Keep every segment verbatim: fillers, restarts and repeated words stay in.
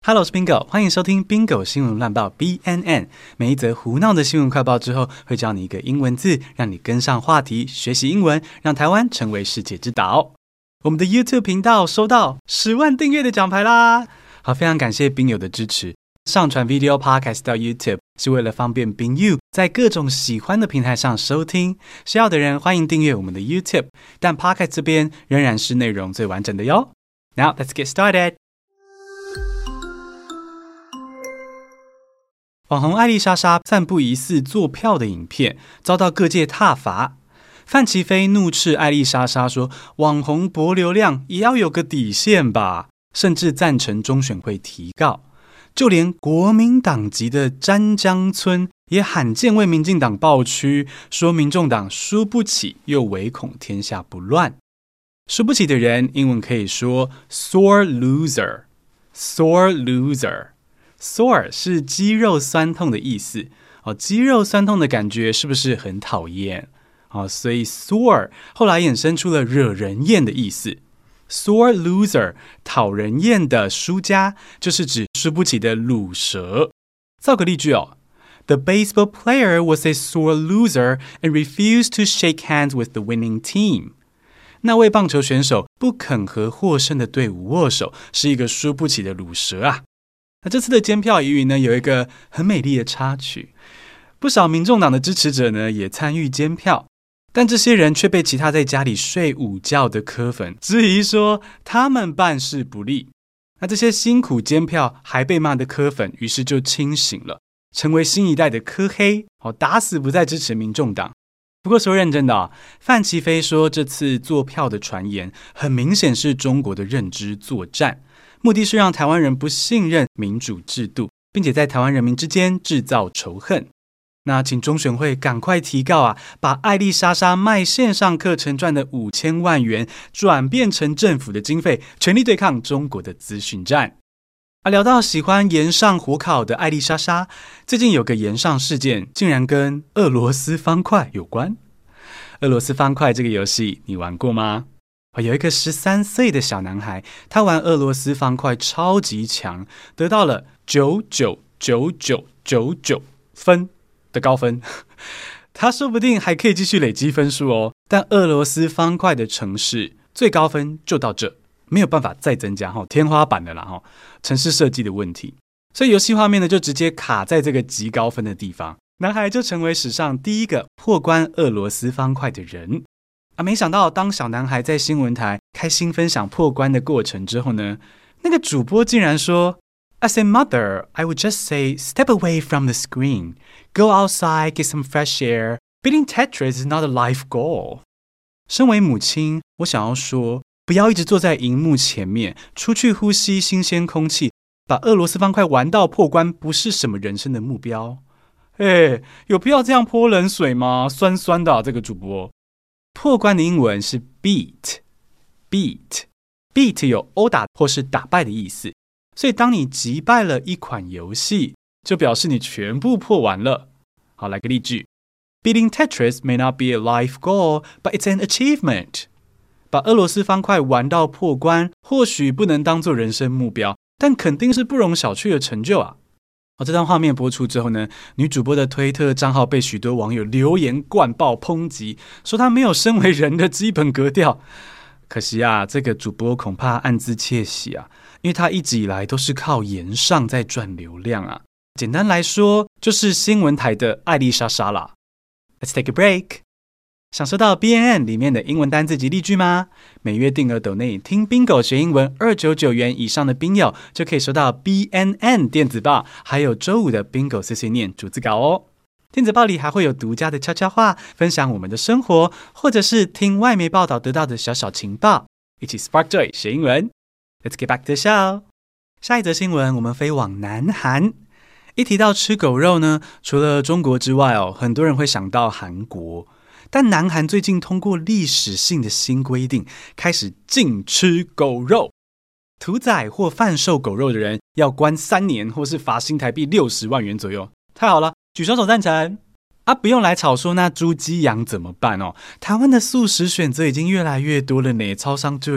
Hello， 我是 Bingo， 歡迎收聽 Bingo 新聞亂報 B N N。每一則胡鬧的新聞快報之後，會教你一個英文字，讓你跟上話題，學習英文，讓台灣成為世界之島。我們的 YouTube 頻道收到十萬訂閱的獎牌啦！好，非常感謝賓友的支持。上傳 Video Podcast 到 YouTube 是為了方便賓友在各種喜歡的平台上收聽。需要的人歡迎訂閱我們的 YouTube， 但 Podcast 這邊仍然是內容最完整的喲。Now let's get started。網紅艾麗莎莎散布疑似作票的影片，遭到各界撻伐。范琪斐怒斥艾麗莎莎說：“網紅博流量也要有個底線吧！”甚至贊成中選會提告。就連國民黨籍的詹江村也罕見為民進黨抱屈，說民眾黨輸不起，又唯恐天下不亂。輸不起的人，英文可以說 sore loser。sore loser。Sore 是肌肉痠痛的意思哦，肌肉痠痛的感覺是不是很討厭？哦，所以 sore 後來衍生出了惹人厭的意思。Sore loser 討人厭的輸家，就是指輸不起的魯蛇。造個例句哦 ：The baseball player was a sore loser and refused to shake hands with the winning team。那位棒球選手不肯和獲勝的隊伍握手，是一個輸不起的魯蛇啊。那這次的監票疑雲呢，有一個很美麗的插曲，不少民眾黨的支持者呢也參與監票，但這些人卻被其他在家裡睡午覺的柯粉質疑說他們辦事不力。那這些辛苦監票還被罵的柯粉，於是就清醒了，成為新一代的柯黑，打死不再支持民眾黨。不過說認真的，范琪斐說這次作票的傳言很明顯是中國的認知作戰，目的是讓台灣人不信任民主制度，並且在台灣人民之間制造仇恨。那請中選會趕快提告啊，把艾麗莎莎賣線上課程賺的五千萬元轉變成政府的經費，全力對抗中國的資訊戰。啊，聊到喜歡炎上火烤的艾麗莎莎，最近有個炎上事件，竟然跟俄羅斯方塊有關。俄羅斯方塊這個遊戲你玩過嗎？有一個十三歲的小男孩，他玩俄羅斯方塊超級強，得到了九九九九九九分的高分。他說不定還可以繼續累積分數哦。但俄羅斯方塊的程式最高分就到這，沒有辦法再增加，天花板的啦，程式設計的問題。所以遊戲畫面呢就直接卡在這個極高分的地方，男孩就成為史上第一個破關俄羅斯方塊的人。啊！沒想到，當小男孩在新聞台開心分享破關的過程之後呢，那個主播竟然說 ：“As a mother, I would just say, step away from the screen, go outside, get some fresh air. Beating Tetris is not a life goal.” 身為母親，我想要說，不要一直坐在熒幕前面，出去呼吸新鮮空氣，把俄羅斯方塊玩到破關，不是什麼人生的目標。哎，有必要這樣潑冷水嗎？酸酸的啊，這個主播。破關的英文是 beat，beat，beat beat 有毆打或是打敗的意思，所以當你擊敗了一款遊戲，就表示你全部破完了。好，來個例句 ：Beating Tetris may not be a life goal, but it's an achievement。把俄羅斯方塊玩到破關，或許不能當作人生目標，但肯定是不容小覷的成就啊。哦，這段畫面播出之後呢，女主播的推特賬號被許多網友留言灌爆抨擊，說她沒有身為人的基本格調。可惜啊，這個主播恐怕暗自竊喜啊，因為她一直以來都是靠炎上在賺流量啊。簡單來說，就是新聞台的艾麗莎莎啦。Let's take a break。想收到 B N N 裡面的英文單字及例句嗎？每月訂額斗內聽 Bingo 學英文二百九十九元以上的賓友就可以收到 B N N 電子報，還有周五的 Bingo 碎碎念逐字稿哦。電子報裡還會有獨家的悄悄話，分享我們的生活，或者是聽外媒報道得到的小小情報，一起 Spark Joy 學英文。Let's get back to the show。下一則新聞，我們飛往南韓。一提到吃狗肉呢，除了中國之外哦，很多人會想到韓國。但南韓最近通過歷史性的新規定，開始禁吃狗肉。屠宰或販售狗肉的人要關三年，或是罰新台幣六十萬元左右。太好了，舉雙手贊成啊！不用來吵說那豬雞羊怎麼辦哦？台灣的素食選擇已經越來越多了呢，超商就有，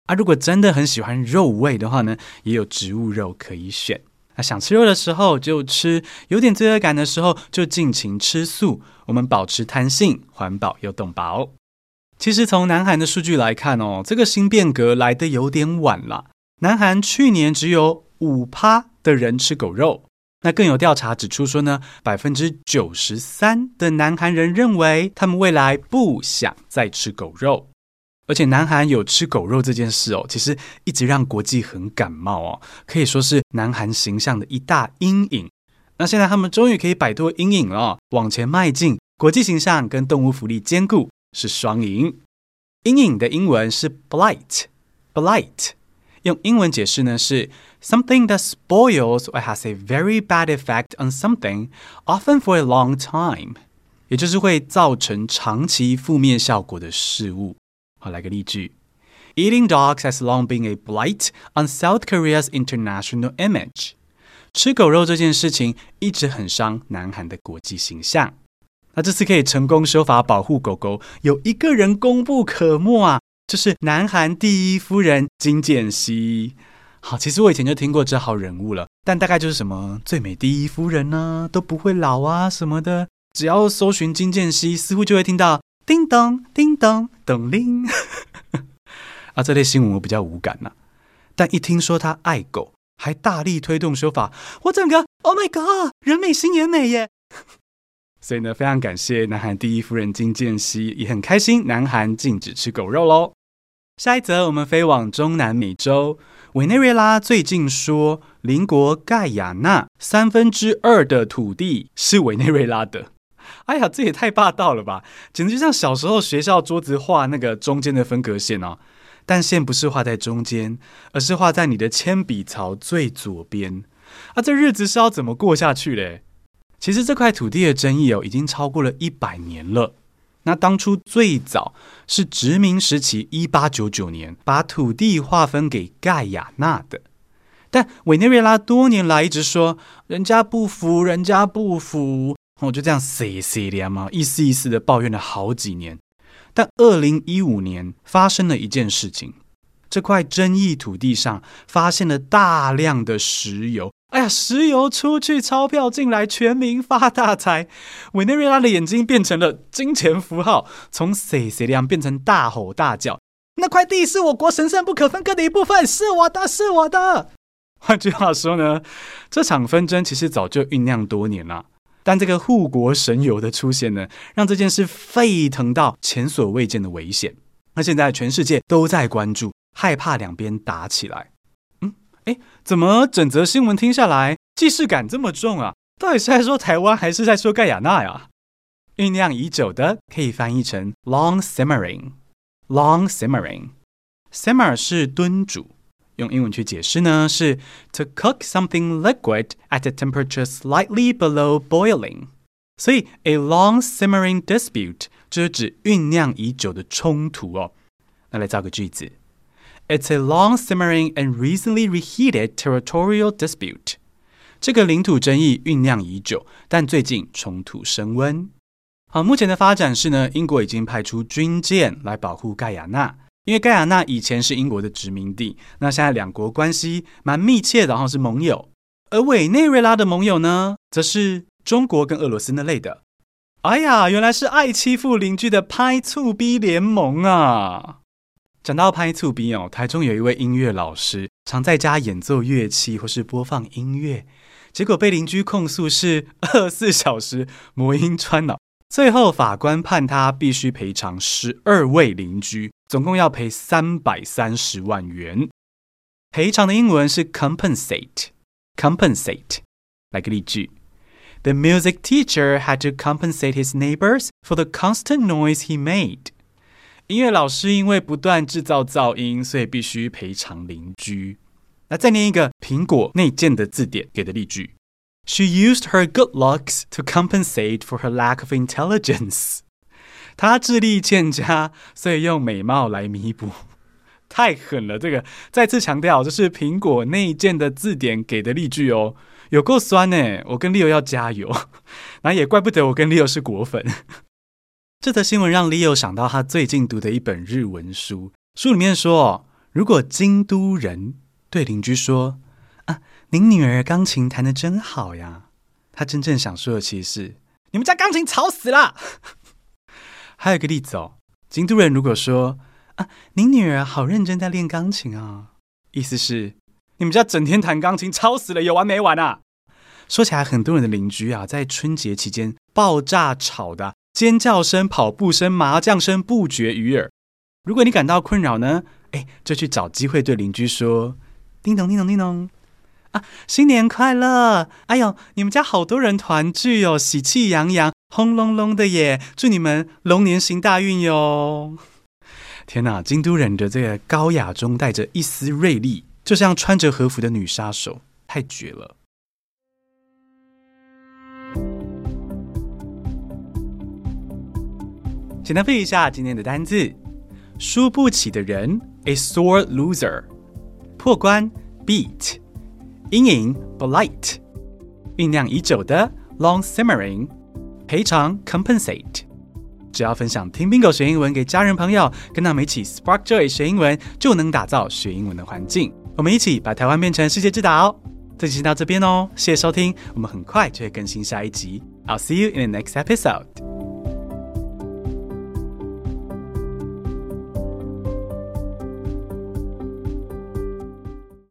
啊，如果真的很喜歡肉味的話呢，也有植物肉可以選。那想吃肉的時候就吃，有點罪惡感的時候就盡情吃素。我們保持彈性，環保又動保。其實從南韓的數據來看哦，這個新變革來得有點晚了。南韓去年只有 百分之五 的人吃狗肉。那更有調查指出說呢， 百分之九十三 的南韓人認為他們未來不想再吃狗肉。而且南韓有吃狗肉這件事哦，其實一直讓國際很感冒哦，可以說是南韓形象的一大陰影。那現在他們終於可以擺脫陰影了，往前邁進，國際形象跟動物福利兼顧，是雙贏。陰影的英文是 blight， blight 用英文解釋呢是 something that spoils or has a very bad effect on something, often for a long time， 也就是會造成長期負面效果的事物。好，來個例句。Eating dogs has long been a blight on South Korea's international image. 吃狗肉這件事情一直很傷南韓的國際形象。那這次可以成功修法保護狗狗，有一個人功不可沒啊，就是南韓第一夫人金建熙。好，其實我以前就聽過這號人物了，但大概就是什麼最美第一夫人啊，都不會老啊什麼的。只要搜尋金建熙，似乎就會聽到叮咚叮咚咚鈴啊，這類新聞我比較無感啊，但一聽說他愛狗，還大力推動修法，我整個 Oh my God， 人美心也美耶！所以呢，非常感謝南韓第一夫人金建熙，也很開心南韓禁止吃狗肉嘍。下一則我們飛往中南美洲，委內瑞拉最近說鄰國蓋亞那三分之二的土地是委內瑞拉的。哎呀，這也太霸道了吧！簡直就像小時候學校桌子畫那個中間的分隔線哦，但線不是畫在中間，而是畫在你的鉛筆槽最左邊。啊，這日子是要怎麼過下去嘞？其實這塊土地的爭議哦，已經超過了一百年了。那當初最早是殖民時期一八九九年把土地劃分給蓋亞那的，但委內瑞拉多年來一直說人家不服，人家不服。我就這樣碎碎念嘛，意思意思的抱怨了好幾年。但二零一五年發生了一件事情，這塊爭議土地上發現了大量的石油。哎呀，石油出去，鈔票進來，全民發大財。委內瑞拉的眼睛變成了金錢符號，從碎碎念變成大吼大叫。那塊地是我國神聖不可分割的一部分，是我的，是我的。換句話說呢，這場紛爭其實早就醞釀多年了。但這個護國神油的出現呢，讓這件事沸騰到前所未見的危險。那現在全世界都在關注，害怕兩邊打起來。嗯，誒，怎麼整則新聞聽下來，既視感這麼重啊？到底是在說台灣，還是在說蓋亞那呀？醞釀已久的可以翻譯成 long simmering。long simmering，simmer 是燉煮。用英文去解釋呢，是 to cook something liquid at a temperature slightly below boiling。所以 a long simmering dispute 就是指醞釀已久的衝突哦。那來造個句子 ，It's a long simmering and recently reheated territorial dispute。這個領土爭議醞釀已久，但最近衝突升溫。好，目前的發展是呢，英國已經派出軍艦來保護蓋亞那。因為蓋亞那以前是英國的殖民地，那現在兩國關係蠻密切的，然後是盟友。而委內瑞拉的盟友呢，則是中國跟俄羅斯那類的。哎呀，原來是愛欺負鄰居的拍醋逼聯盟啊！講到拍醋逼哦，台中有一位音樂老師，常在家演奏樂器或是播放音樂，結果被鄰居控訴是二十四小時魔音穿腦。最後法官判他必須賠償十二位鄰居，總共要賠三百三十萬元。賠償的英文是 compensate。compensate， 來個例句 ：The music teacher had to compensate his neighbors for the constant noise he made。音樂老師因為不斷製造噪音，所以必須賠償鄰居。那再念一個蘋果內建的字典給的例句。She used her good looks to compensate for her lack of intelligence. 她智力欠佳，所以用美貌來彌補。太狠了，這個再次強調，這是蘋果內建的字典給的例句哦，有夠酸耶，我跟 Leo 要加油。那也怪不得我跟 Leo 是果粉。這則新聞讓 Leo 想到他最近讀的一本日文書，書裡面說， 如果京都人對鄰居說：“啊，您女兒鋼琴彈得真好呀。”他真正想說的其實是：“你們家鋼琴吵死了。”還有一個例子哦，京都人如果說：“啊，您女兒好認真在練鋼琴啊。”意思是你們家整天彈鋼琴吵死了，有完沒完啊？說起來，很多人的鄰居啊，在春節期間爆炸吵的尖叫聲、跑步聲、麻將聲不絕於耳。如果你感到困擾呢，哎，就去找機會對鄰居說：“叮咚叮咚叮咚，啊，新年快樂！哎呦，你們家好多人團聚哦，喜氣洋洋，轟隆隆的耶！祝你們龍年行大運喲！”天哪，京都人的這個高雅中帶着一絲銳利，就像穿着和服的女殺手，太絕了。簡單背一下今天的單字：輸不起的人 ，a sore loser； 破關 beat； 陰影 blight； 醞釀已久的 long simmering； 賠償 compensate。只要分享聽 Bingo 學英文給家人朋友，跟他們一起 Spark Joy 學英文，就能打造學英文的環境。我們一起把台灣變成世界之島。這集先到這邊哦，謝謝收聽，我們很快就會更新下一集。I'll see you in the next episode.